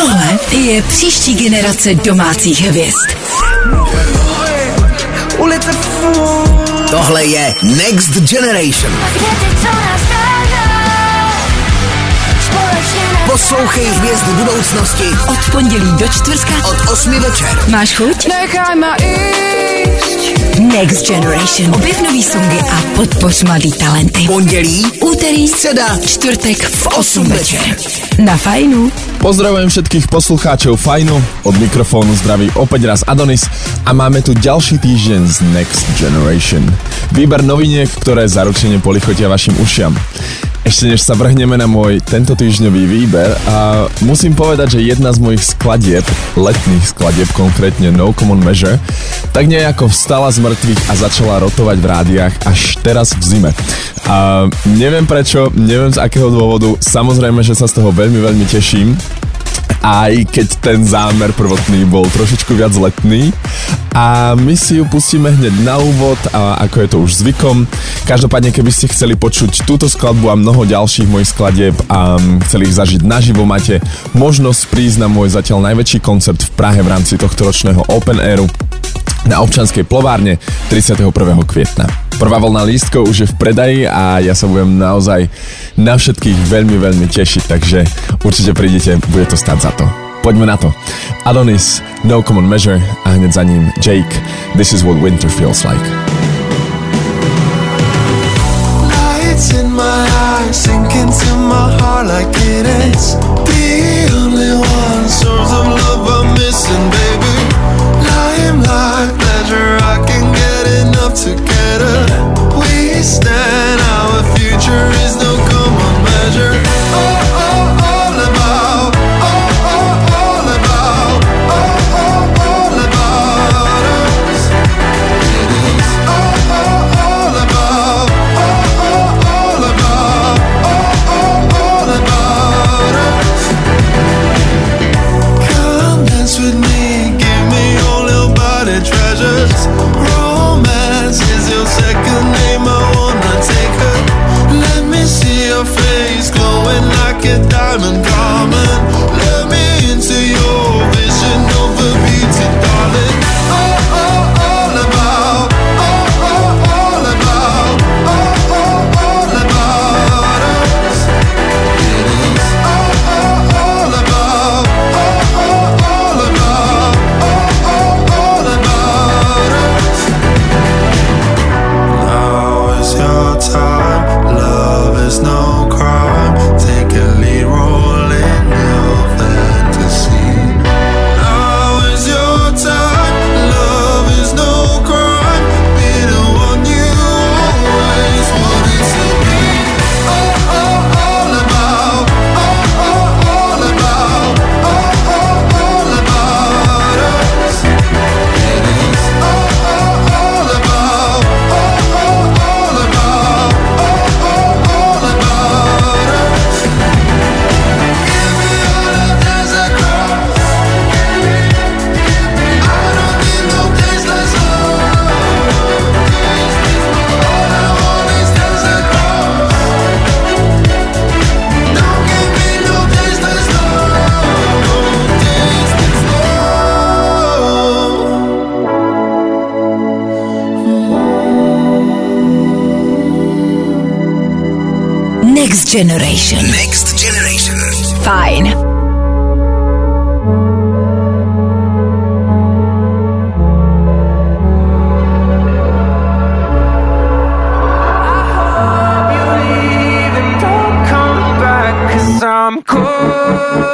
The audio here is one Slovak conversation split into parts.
Tohle je příští generace domácích hvězd. Tohle je Next Generation. Poslouchej hvězdy budoucnosti Od pondělí do čtvrtka od 8 večer. Máš chuť? Nechaj ma ísť. Next Generation. Objev nový songy a podpoř mladý talenty. Pondělí, Úterý, středa, čtvrtek v 8 večer. Na Fajnu. Pozdravujem všetkých poslucháčov Fajnu, od mikrofónu zdraví opäť raz Adonis a máme tu ďalší týždeň z Next Generation. Výber noviniek, ktoré zaručene polichotia vašim ušiam. Ešte než sa vrhneme na môj tento týždňový výber, a musím povedať, že jedna z mojich skladieb, letných skladieb, konkrétne No Common Measure, tak nejako vstala z mŕtvych a začala rotovať v rádiách až teraz v zime. A neviem prečo, neviem z akého dôvodu, samozrejme, že sa z toho veľmi, veľmi teším, aj keď ten zámer prvotný bol trošičku viac letný. A my si ju pustíme hneď na úvod, a ako je to už zvykom. Každopádne, keby ste chceli počuť túto skladbu a mnoho ďalších mojich skladieb a chceli ich zažiť naživo, máte možnosť prísť na môj zatiaľ najväčší koncert v Prahe v rámci tohto ročného Open Airu na Občianskej plovárne 31. kvietna. Prvá vlna lístkov už je v predaji a ja sa budem naozaj na všetkých veľmi, veľmi tešiť, takže určite prídete, bude to stáť za to. Poďme na to. Adonis, No Common Measure a hneď za ním Jake, This is what winter feels like. Lights in my eyes, sink into my heart like it is the only one source of love I'm missing, baby. Limelight pleasure, I can get enough together. We stand, our future is no common measure. All about, all about us. It is all about, all about us. Come dance with me, give me all your body treasures. Romance is your second name, I wanna take her. Let me see your face glowing like a diamond garment. Let me into your vision of a beauty, darling. All about, all about, all about us. It is all about, all about, all about us. Now is your time, love is no crime. Take a lead role in your fantasy. Now is your time, love is no crime. Be the one you always wanted to be. All about, all about, all about us. It is all about, all about, all about us. Give me all of this across. I don't need no tasteless love. All I want is this across. Don't give me no tasteless love. Tasteless Next Generation. Next Generation. Fajn. I'm cold.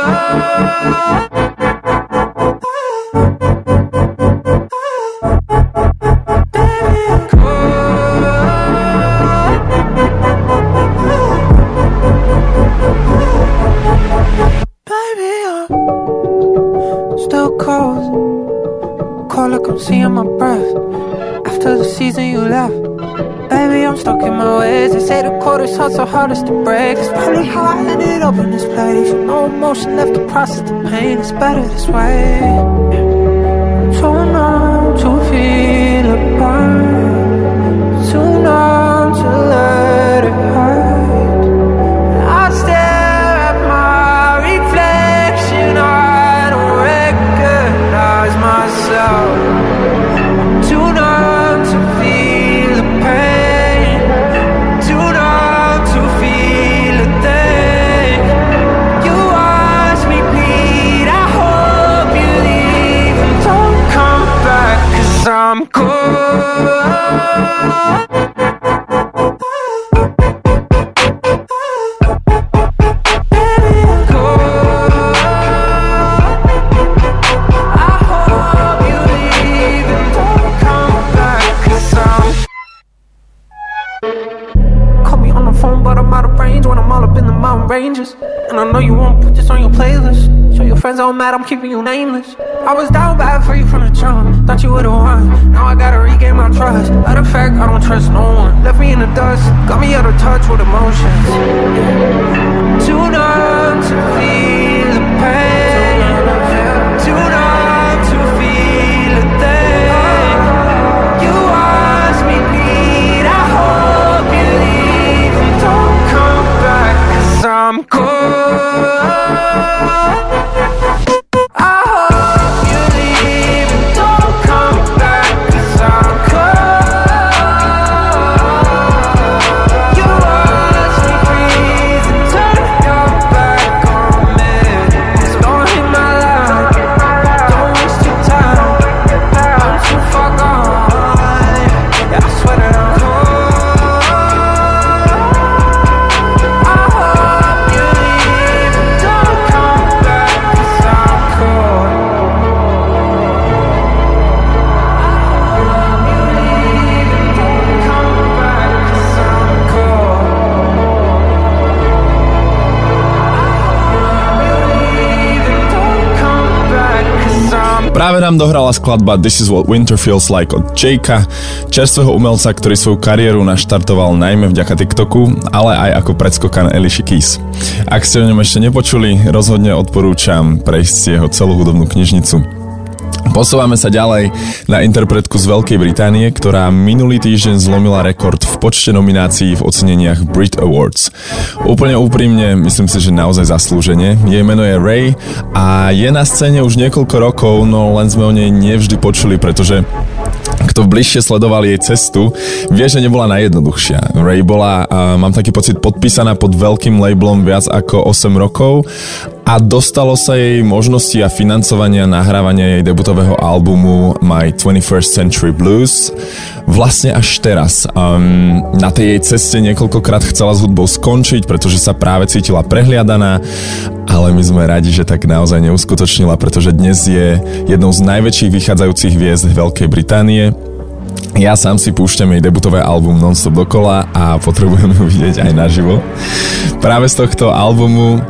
Baby, I'm still cold. Cold like I'm seeing my breath. After the season you left, baby, I'm stuck in my ways. They say the cold is hot, so hardest to break. It's probably how I ended up in this place. No emotion left to process the pain. It's better this way. Too numb to feel a burn. Too numb to let it hurt. I stare at my reflection. I know you won't put this on your playlist. Show your friends all mad, I'm keeping you nameless. I was down bad for you from the jump. Thought you would've won. Now I gotta regain my trust. Matter of fact, I don't trust no one. Left me in the dust, got me out of touch with emotions. Too numb to feel the pain. Too numb to feel a thing. You watch me bleed, I hope you leave and don't come back, 'cause I'm cold. Práve nám dohrala skladba This is what winter feels like od Jakea, čerstvého umelca, ktorý svoju kariéru naštartoval najmä vďaka TikToku, ale aj ako predskokan Alicia Keys. Ak ste o ňom ešte nepočuli, rozhodne odporúčam prejsť si jeho celú hudobnú knižnicu. Posúvame sa ďalej na interpretku z Veľkej Británie, ktorá minulý týždeň zlomila rekord v počte nominácií v oceneniach Brit Awards. Úplne úprimne, myslím si, že naozaj zaslúžene. Jej meno je Ray a je na scéne už niekoľko rokov, no len sme o nej nevždy počuli, pretože kto bližšie sledoval jej cestu, vie, že nebola najjednoduchšia. Ray bola, mám taký pocit, podpísaná pod veľkým labelom viac ako 8 rokov a dostalo sa jej možnosti a financovania nahrávania jej debutového albumu My 21st Century Blues vlastne až teraz. Na tej jej ceste niekoľkokrát chcela s hudbou skončiť, pretože sa práve cítila prehliadaná, ale my sme radi, že tak naozaj neuskutočnila, pretože dnes je jednou z najväčších vychádzajúcich hviezd Veľkej Británie. Ja sám si púšťam jej debutové album non-stop dokola a potrebujem ju vidieť aj naživo. Práve z tohto albumu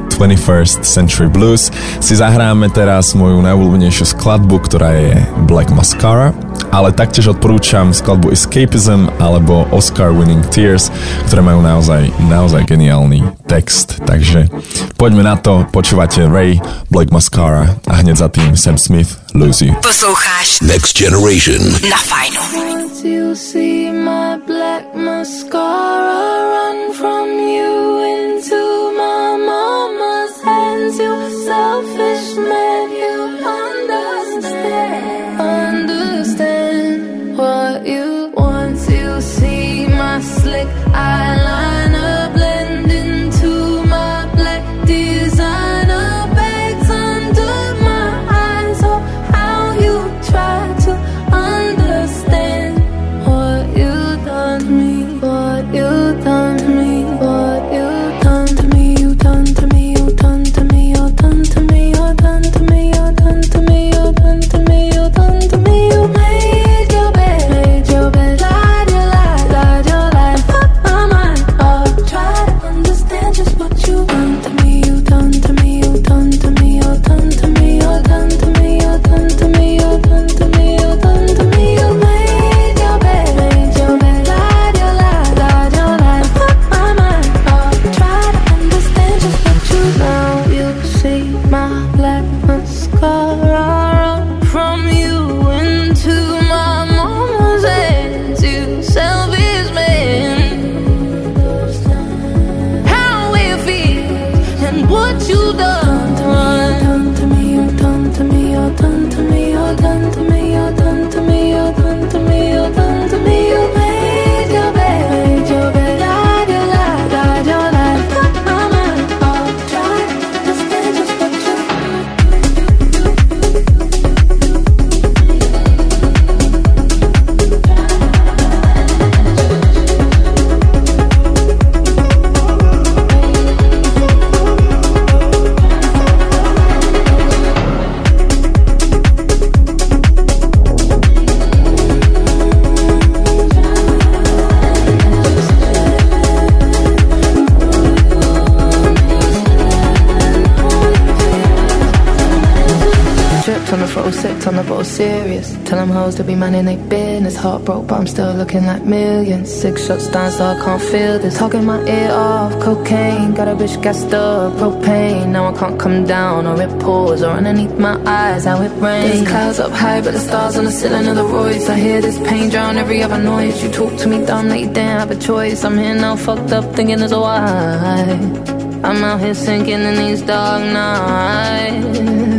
21st Century Blues si zahráme teraz moju najobľúbenejšiu skladbu, ktorá je Black Mascara, ale taktiež odporúčam skladbu Escapism alebo Oscar Winning Tears, ktoré majú naozaj geniálny text. Takže poďme na to, počúvate Ray, Black Mascara a hneď za tým Sam Smith, Lose You. Posloucháš Next Generation na Fajnu. Once you see my black mascara run from you into my mama's hands, you selfish man, you understand what you want. You see my slick eyeliner blend into my black designer bags under my eyes. Oh, how you try to understand what you done to me, what you done to me, what you done to me, you done to me, you done to me, you done to me, you done to me, you done to me, you done to me, you done to me. You made your bed, lied your life, fuck my mind up. Try to understand just what you done to me, you done to me, you done to me, you done to me, you done to me, you done to me, you done to me, you done to me. You made your bed, lied your life, fuck my mind up. Try to understand just what you now. You see my black mascara run from you into my mama's hands. You selfish man, how it feels and what you done to me, you done to me, you done to me, you done to me, you done to me, you done to me, you done to me. You made your bed, lied your life, fuck my mind up. Try to understand just what you on the throttle, sipped on the bottle, serious. Tell them hoes to be minding they business. Heart broke, but I'm still looking like millions. 6 shots down, so I can't feel this. Talking my ear off, cocaine. Got a bitch gassed up, propane. Now I can't come down, or it pours, or underneath my eyes, how it rains. There's clouds up high, but the stars on the ceiling of the Royce. I hear this pain drown every other noise. You talk to me dumb, that you didn't have a choice. I'm here now, fucked up, thinking there's a why. I'm out here sinking in these dark nights,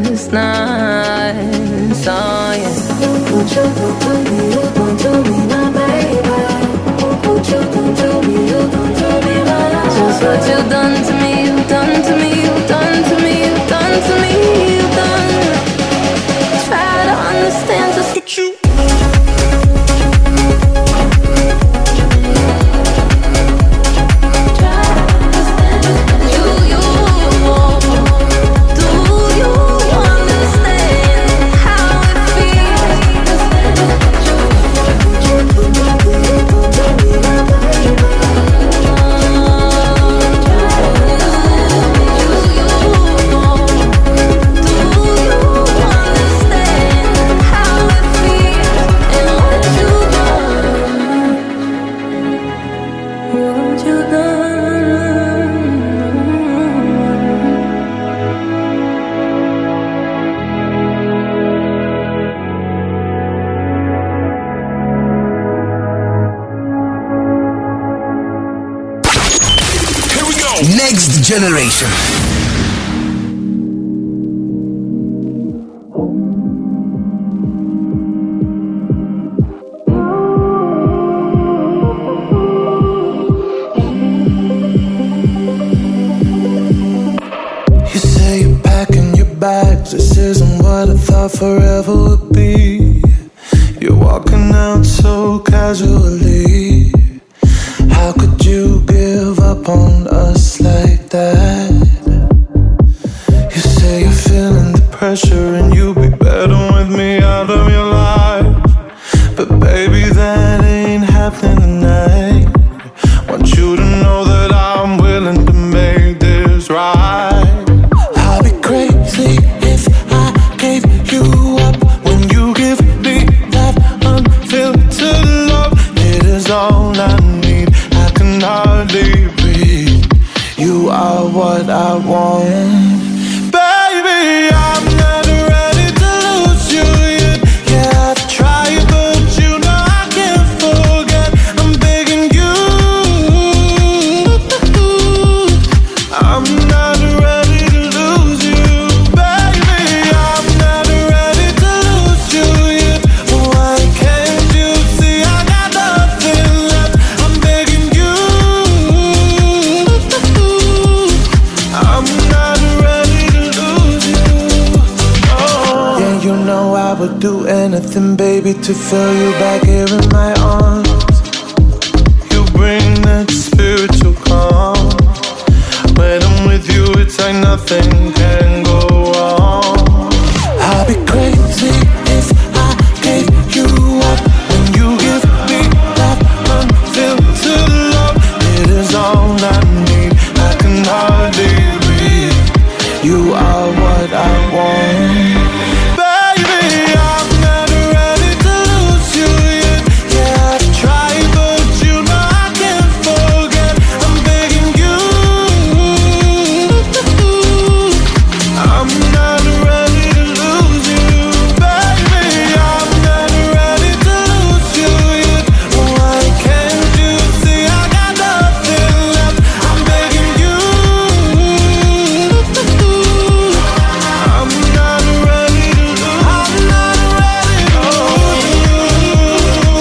nights, oh yeah. What you gon' do me, you gon' do me, my baby. What you gon' do me, you gon' do me, my love. Just what you done to me, you done to me, you done to me, you done to me, you done. Try to understand just what you. Next Generation. You say you're packing your bags. This isn't what I thought forever would be. You're walking out so casually. How could you give up on us like that? You say you're feeling the pressure and you'll be better with me out of your life. But baby, that ain't happening tonight. Want you to know that I'm willing to make this right. I'll be crazy if I gave you up when you give me that unfiltered love. It is all I need. I can hardly breathe. You are what I want. Baby, I'm not ready to lose you yet. Yeah, I've tried, but you know I can't forget. I'm begging you. I'm not ready to lose you. Baby, I'm not ready to lose you yet. Why can't you see I got nothing left? I'm begging you. I'm not ready to lose you. Oh. Yeah, you know I would do anything, baby, to feel you back here in my arms. You bring that spiritual calm. When I'm with you, it's like nothing can go wrong. I'll be crazy if I gave you up when you give me that unfiltered love. It is all I need. I can hardly breathe. You are what I want. Baby, I'm not ready to lose you yet. Yeah, I've tried, but you know I can't forget. I'm begging you. I'm not ready to lose you. Baby, I'm not ready to lose you yet. Why can't you see I got nothing left? I'm begging you. I'm not ready to lose. I'm not ready to lose you.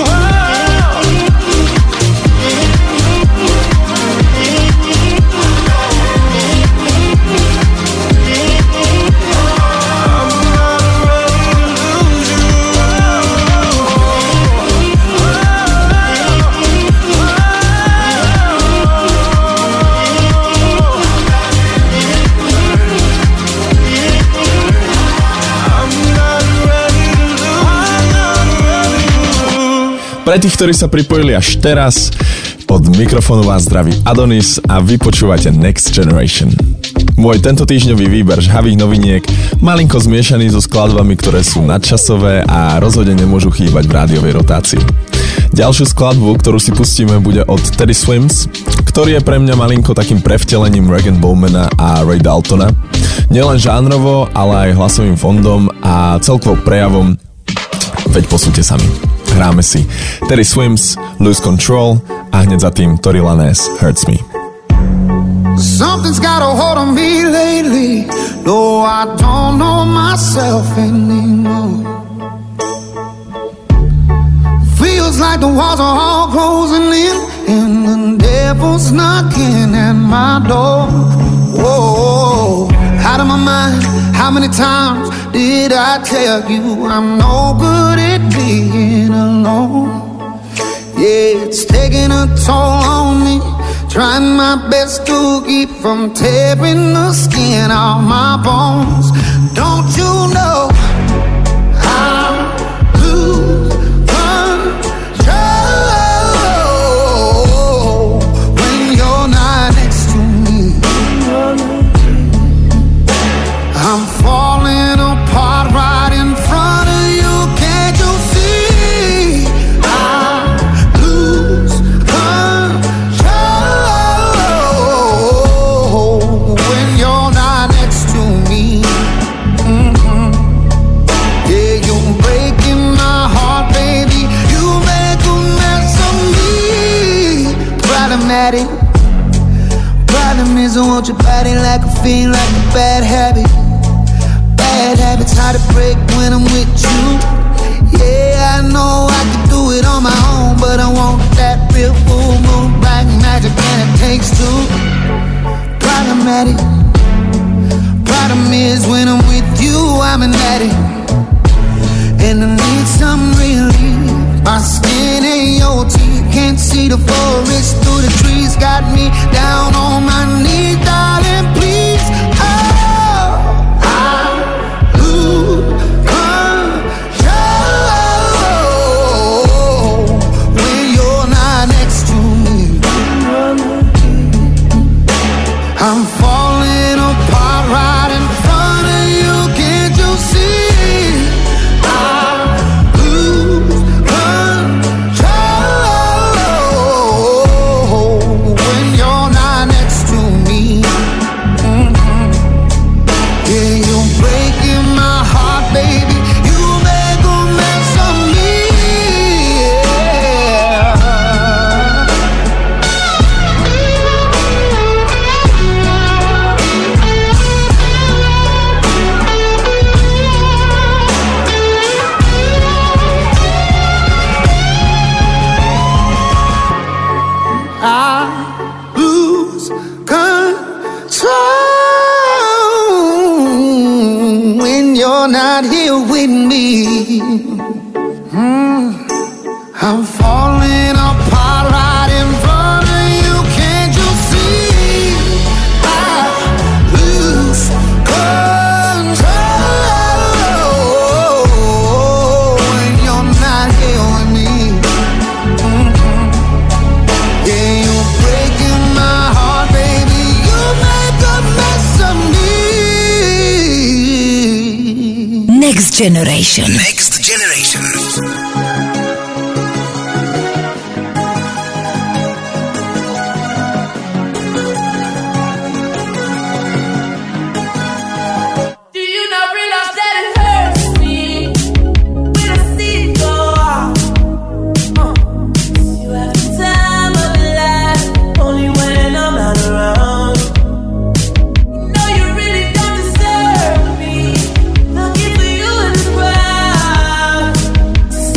Pre tých, ktorí sa pripojili až teraz, od mikrofónu vás zdraví Adonis a vy počúvate Next Generation. Môj tento týždňový výber žhavých noviniek, malinko zmiešaný so skladbami, ktoré sú nadčasové a rozhodne nemôžu chýbať v rádiovej rotácii. Ďalšiu skladbu, ktorú si pustíme, bude od Teddy Swims, ktorý je pre mňa malinko takým prevtelením Rag & Bowmana a Ray Daltona. Nielen žánrovo, ale aj hlasovým fondom a celkovo prejavom. Veď posúďte sami. Hráme si Teddy Swims, Lose Control a hneď za tým Tory Lanez, Hurts Me. Something's got a hold on me lately. No, I don't know myself anymore. Feels like the walls are all closing in and the devil's knocking at my door. Whoa, out of my mind. How many times did I tell you I'm no good at being alone? Yeah, it's taking a toll on me. Trying my best to keep from tearing the skin off my bones. Don't you know I lose control when you're not next to me? I'm falling apart right in front of you. Can't you see? I lose control when you're not next to me. Yeah, you're breaking my heart, baby. You make a mess of me. Problematic. Problem is I want your body like a fiend, like a bad habit. Bad habits hard to break when I'm with you. Yeah, I know I can do it on my own, but I want that real full moon, black magic, and it takes two. Problematic. Problem is when I'm with you, I'm an addict, and I need some relief. My skin ain't your teeth, can't see the forest through the trees. Got me down on my knees, darling, please. I'm falling apart right in front of you. Can't you see? I lose control when you're not next to me. Yeah, you're breaking my heart, baby. You make a mess of me. I lose control when you're not here with me. I'm falling apart right in front of you. Can't you see? I lose control when you're not here with me. Yeah, you're breaking my heart, baby. You make a mess of me. Next Generation. Next Generation. Do you not realize that it hurts me when I see it go off? You have the time of your life, only when I'm not around. You know you really don't deserve me. Looking for you in the crowd.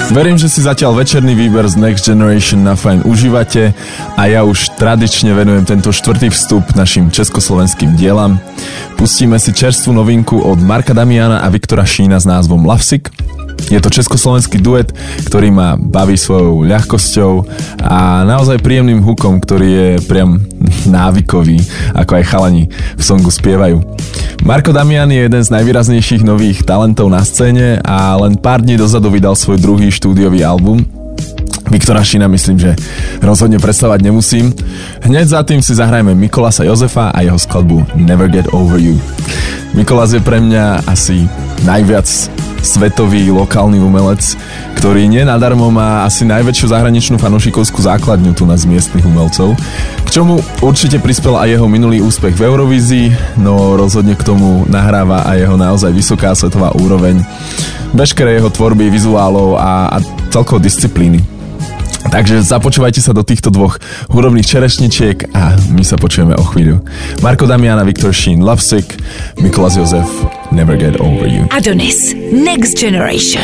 Verím, že si zatiaľ večerný výber z Next Generation na Fajn užívate a ja už tradične venujem tento štvrtý vstup našim československým dielam. Pustíme si čerstvú novinku od Marka Damiana a Viktora Šína s názvom Lovesick. Je to československý duet, ktorý ma baví svojou ľahkosťou a naozaj príjemným hookom, ktorý je priam návykový, ako aj chalani v songu spievajú. Marko Damian je jeden z najvýraznejších nových talentov na scéne a len pár dní dozadu vydal svoj druhý štúdiový album. Viktora Šína myslím, že rozhodne predstavať nemusím. Hneď za tým si zahrajeme Mikolasa Jozefa a jeho skladbu Never Get Over You. Mikolas je pre mňa asi najviac svetový lokálny umelec, ktorý nie nadarmo má asi najväčšiu zahraničnú fanúšikovskú základňu tu nás miestnych umelcov, k čomu určite prispel aj jeho minulý úspech v Eurovízii, no rozhodne k tomu nahráva aj jeho naozaj vysoká svetová úroveň, veškeré jeho tvorby, vizuálov a celkovo disciplíny. Takže započúvajte sa do týchto dvoch hudobných čerešničiek a my sa počujeme o chvíľu. Marko Damian a Viktor Šín, Lovesick, Mikolas Jozef, Never Get Over You. Adonis, Next Generation.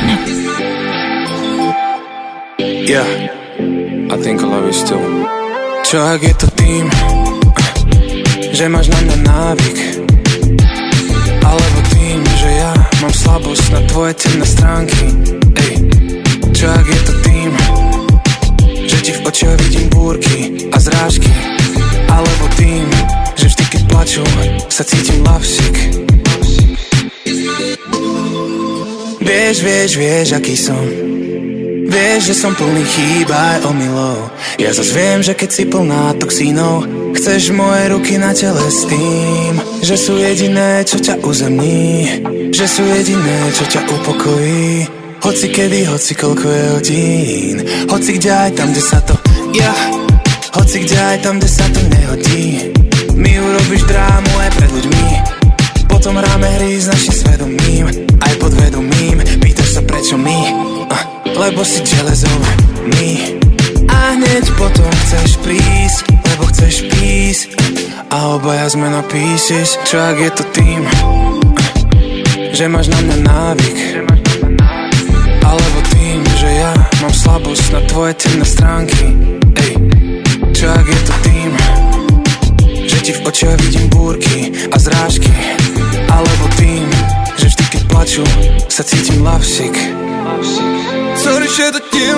Yeah, I think I love you still. Čo ak je to tým, že máš na mňa návyk, alebo tým, že ja mám slabosť na tvoje temné stránky. Ej, čo ak je to tým, že ti v očiach vidím búrky a zrážky, alebo tým, že vždy keď plaču sa cítim lovesick. Vieš, aký som. Vieš, že som plný chýb aj omylov. Ja zas viem, že keď si plná toxínov, chceš moje ruky na tele s tým, že sú jediné, čo ťa uzemní, že sú jediné, čo ťa upokojí. Hoci kedy, hoci koľko je hodín, hoci kde aj tam, kde sa to hoci kde aj tam, kde sa to nehodí. Mi urobíš drámu aj pred ľuďmi, potom hráme hry s našim svedomím, aj podvedomím. Pýtaš sa prečo my, lebo si železom my. A hneď potom chceš prísť, lebo chceš písť, a obaja sme na pieces. Čo ak je to tým, že máš na mňa návyk, alebo tým, že ja mám slabosť na tvoje temné stránky. Ej, čo ak je to tým, že ti v očiach vidím búrky a zrážky, alebo tým, že vždy keď plaču sa cítim lovesick. Co když je to tím,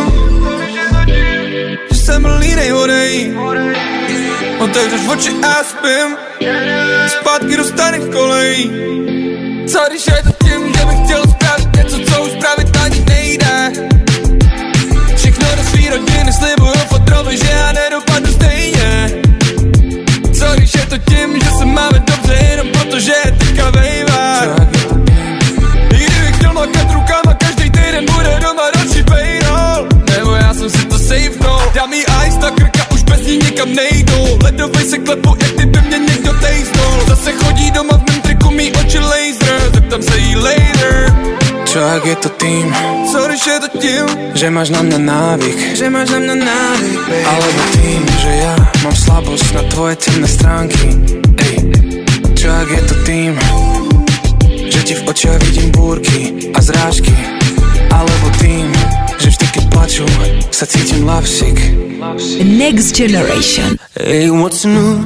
že jsem línej horej, otevřeš oči a spím, zpátky do starých kolejí. Co když je to tím, že bych chtěl spravit něco, co už pravit ani nejde. Všechno do svý rodiny slibuju fotrovi, že já nedopadnu stejně. Co když je to tím, že se máme dobře jenom proto, že je teďka vejva. I kdybych chtěl makat rukama, každý týden bude doma další payroll. Nebo já jsem si to sejfnul, dám jí ice na krka, už bez ní nikam nejdou. Ledovej se klepu, jak kdyby mě někdo tejznul. Zase chodí doma v mém triku, mý oči laser, zeptám se jí later. Čo ak je to tým, co když je to tím, že máš na mňa návyk, baby. alebo tým, že ja mám slabosť na tvoje temné stránky. Ej, čo ak je to tým, že ti v očiach vidím búrky a zrážky, alebo tým, že vždy keď plaču sa cítim lovesick. Next Generation. Hey, what's new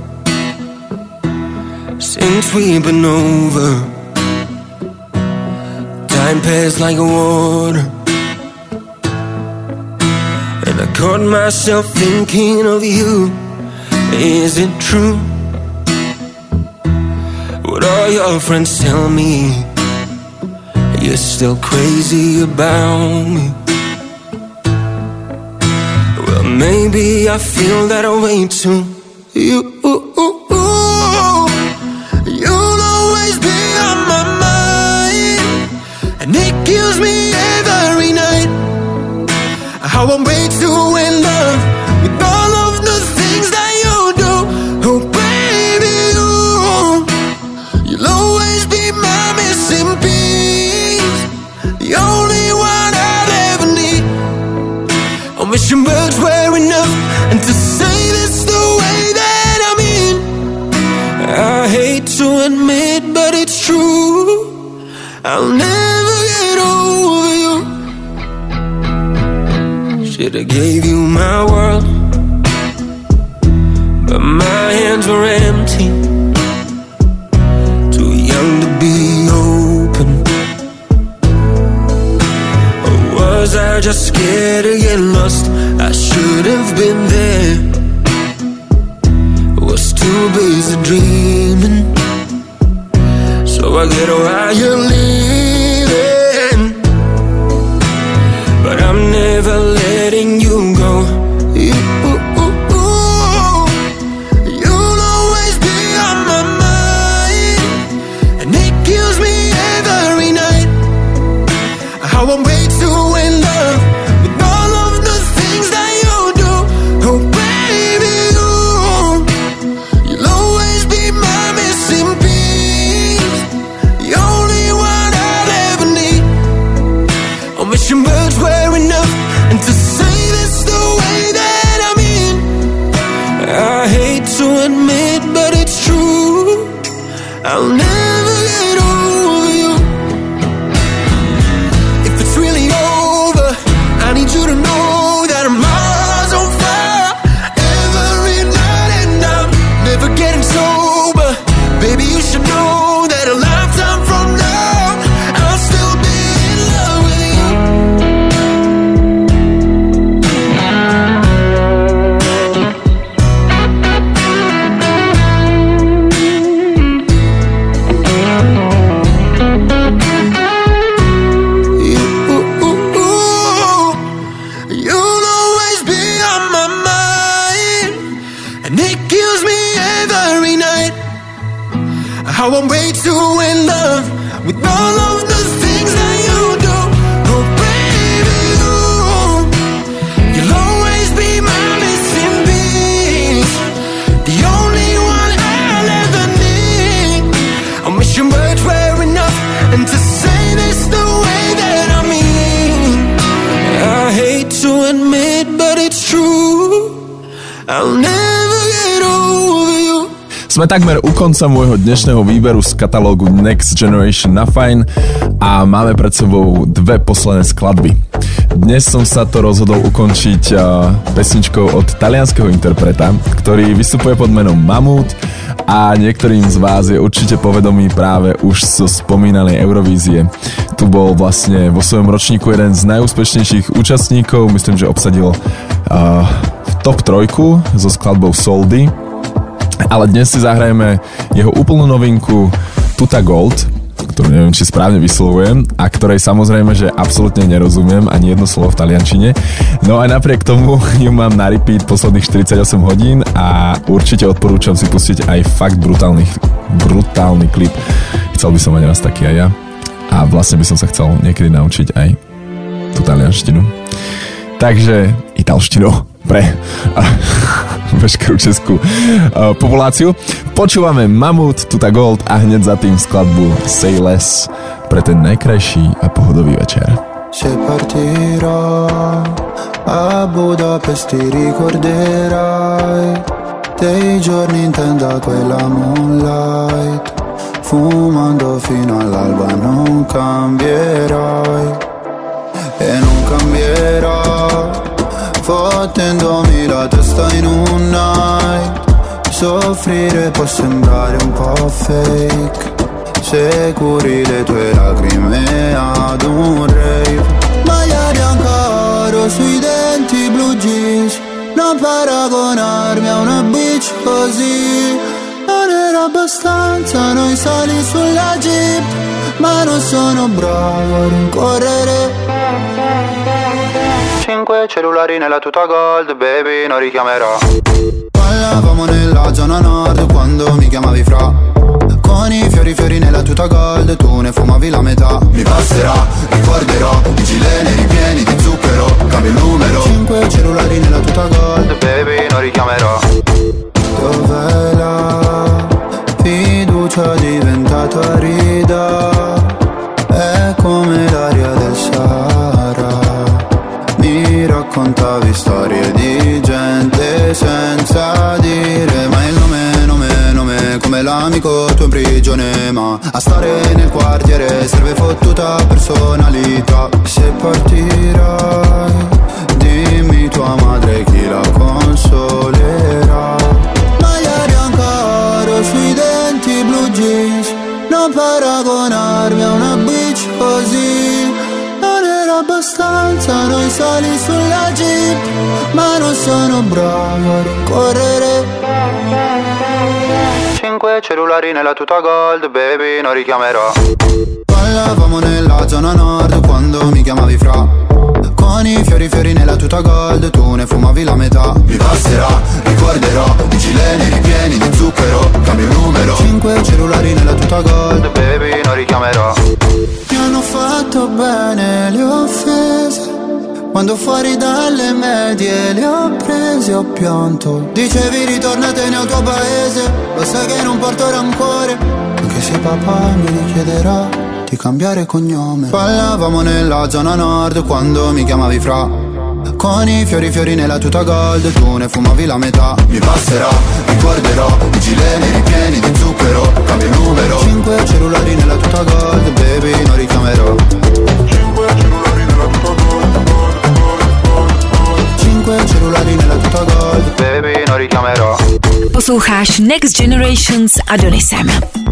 since we've been over? Time passed like water, and I caught myself thinking of you. Is it true what all your friends tell me? You're still crazy about me. Well, maybe I feel that way too. You'll always be on my mind, and it kills me every night how I'm way too in love with all of the things that you do. Oh baby, you'll always be my missing piece, the only one I'll ever need. I wish your words were enough, and to say this the way that I mean. I hate to admit, but it's true, I'll never get over you. Should've gave you my world, but my hands were empty. Too young to be open. Or was I just scared to get lost? I should have been there. Was too busy dreaming. So I get why you're leaving, but I'm never letting you go. You'll always be on my mind, and it kills me every night. How I'm way too in love with all of the things that you do. Oh baby, you'll always be my missing piece, the only one I'll ever need. I'm wishing birds were enough, and to say this the way that I mean. I hate to admit, but it's true, I'll never get over you. If it's really over, I need you to know that I'm miles on fire every night, and I'm never getting sober. Baby, you should know that a lifetime from now I'll still be in love with you. You'll always be on my mind, and it kills me every night. How I'm way too in love with all of the things that you do. Oh baby, you'll always be my missing piece, the only one I'll ever need. I'm wishing words were enough, and to say this the way that I mean. I hate to admit, but it's true, I'll never get over you. Sme takmer u konca môjho dnešného výberu z katalógu Next Generation na Fajn a máme pred sebou dve posledné skladby. Dnes som sa to rozhodol ukončiť pesničkou od talianskeho interpreta, ktorý vystupuje pod menom Mamut a niektorým z vás je určite povedomý práve už zo spomínanej Eurovízie. Tu bol vlastne vo svojom ročníku jeden z najúspešnejších účastníkov, myslím, že obsadil v top 3 so skladbou Soldi. Ale dnes si zahrajeme jeho úplnú novinku Tuta Gold, ktorú neviem, či správne vyslovujem a ktorej samozrejme, že absolútne nerozumiem ani jedno slovo v taliančine. No aj napriek tomu ju mám na repeat posledných 48 hodín a určite odporúčam si pustiť aj fakt brutálny klip. Chcel by som mať raz taký aj ja a vlastne by som sa chcel niekedy naučiť aj tú talianštinu. Takže italštinu pre veškerú českú populáciu. Počúvame Mamut, Tuta Gold a hneď za tým skladbu Say Less pre ten najkrajší a pohodový večer. Se partirò a Budapest ti ricorderai dei giorni in tenda quella moonlight, fumando fino all'alba non cambierai e non cambierò, fottendomi la testa in un night. Soffrire può sembrare un po' fake se curi le tue lacrime ad un rave. Maglia bianca oro sui denti, blue jeans, non paragonarmi a una bitch così. Non era abbastanza noi sali sulla jeep, ma non sono bravo a rincorrere. 5 cellulari nella tuta gold, baby, non richiamerò. Parlavamo nella zona nord quando mi chiamavi fra, con i fiori nella tuta gold, tu ne fumavi la metà. Mi passerà, ricorderò i gileni ripieni di zucchero, cambio il numero. 5 cellulari nella tuta gold, baby, non richiamerò. Dov'è la fiducia diventata rida? È come l'aria del Sahara. Mi raccontavi storie di gente senza dire mai il nome, come l'amico tuo in prigione, ma a stare nel quartiere serve fottuta personalità. Se partirai dimmi tua madre chi la consolerà? Maglia bianca oro sui denti, blue jeans, non paragonarmi a una bitch così. Non era abbastanza noi sali sulla jeep, ma non sono bravo a rincorrere. 5 cellulari nella tuta gold, baby, non richiamerò. Ballavamo nella zona nord quando mi chiamavi fra. Con i fiori nella tuta gold, tu ne fumavi la metà. Mi passerà, ricorderò, i gileni ripieni di zucchero, cambio il numero. 5 cellulari nella tuta gold, Baby, non richiamerò. mi hanno fatto bene le offese. Quando fuori dalle medie le ho prese, ho pianto. Dicevi ritornatene al tuo paese, lo sai che non porto rancore, anche se papà mi richiederà di cambiare cognome. Ballavamo nella zona nord quando mi chiamavi fra. Con i fiori nella tuta gold, tu ne fumavi la metà. Mi passerà, ricorderò, i gileni ripieni di zucchero, cambio il numero. 5 cellulari nella tuta gold, baby, non richiamerò. 5 cellulari nella tuta gold, Baby, non richiamerò. Posloucháš Next Generation s Adonisem.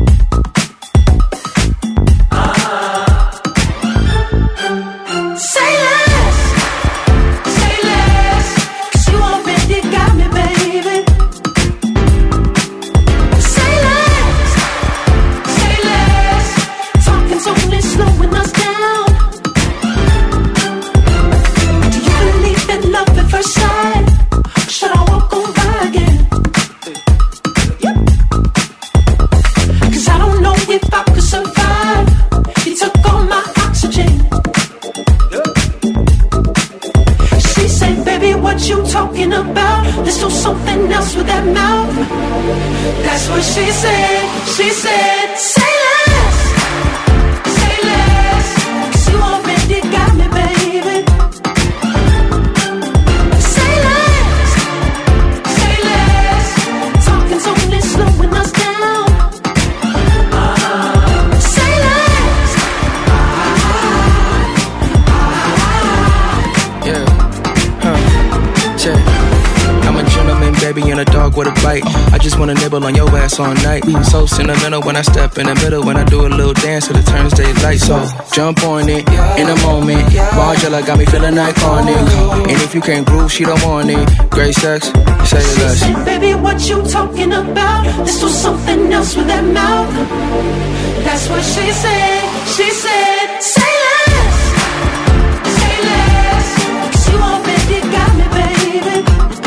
I just wanna nibble on your ass all night. So sentimental when I step in the middle, when I do a little dance till it turns daylight. So jump on it in a moment. Margella got me feeling iconic. And if you can't groove, she don't want it. Great sex, say it less. She said, baby, what you talking about? This was something else with that mouth. That's what she said. She said, say less. Say less. 'Cause you already got me, baby.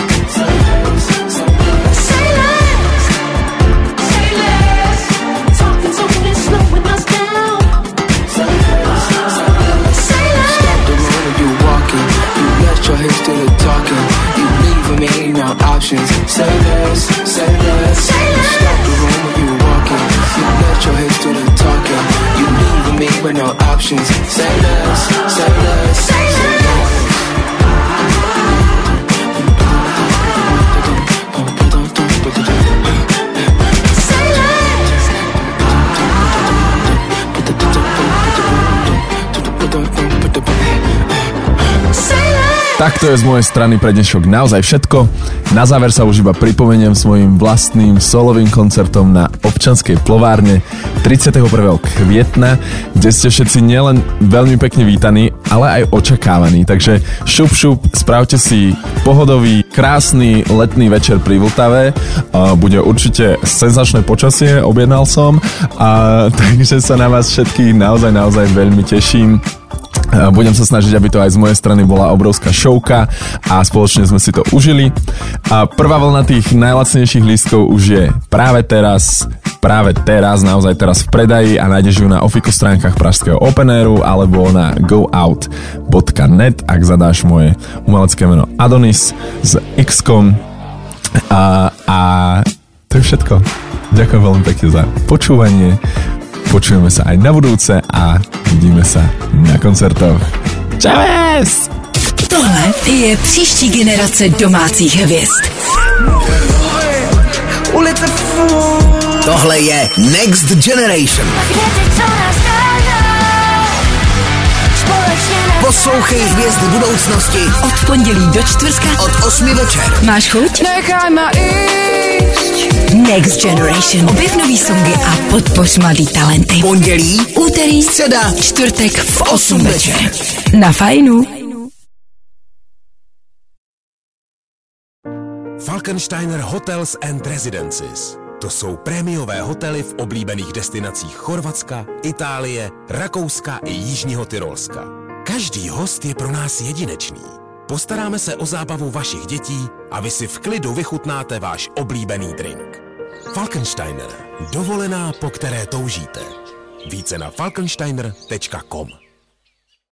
Your hips to the talking, you leaving me no options. Say less, say less. Say less. Stop the room when you walking. You let your hips to the talking, you leaving me with no options. Say less, say less. Say less. Tak to je z mojej strany pre dnešok naozaj všetko. Na záver sa už iba pripomeniem svojim vlastným solovým koncertom na Občianskej plovárne 31. kvietna, kde ste všetci nielen veľmi pekne vítaní, ale aj očakávaní. Takže šup, spravte si pohodový, krásny letný večer pri Vltave. Bude určite senzačné počasie, objednal som. Takže sa na vás všetkých naozaj veľmi teším. Budem sa snažiť, aby to aj z mojej strany bola obrovská showka a spoločne sme si to užili. A prvá vlna tých najlacnejších lístkov už je práve teraz, naozaj teraz v predaji a nájdeš ju na ofiko stránkach pražského Open Airu alebo na goout.net, ak zadáš moje umelecké meno Adonis s X-kom. A to je všetko. Ďakujem veľmi pekne za počúvanie. Počujeme sa aj na budúce a vidíme sa na koncertoch. Čaves! Tohle je příští generace domácích hvězd. Tohle je Next Generation. Poslouchej Hvězdy budoucnosti od pondělí do čtvrtka od 8 večer. Máš chuť? Nechaj ma ísť. Next Generation. Objev nový songy a podpoř mladý talenty. Pondělí, úterý, středa, čtvrtek v 8 večer. Na Fajnu. Falkensteiner Hotels and Residences. To jsou prémiové hotely v oblíbených destinacích Chorvatska, Itálie, Rakouska i Jižního Tyrolska. Každý host je pro nás jedinečný. Postaráme se o zábavu vašich dětí a vy si v klidu vychutnáte váš oblíbený drink. Falkensteiner. Dovolená, po které toužíte. Více na falkensteiner.com.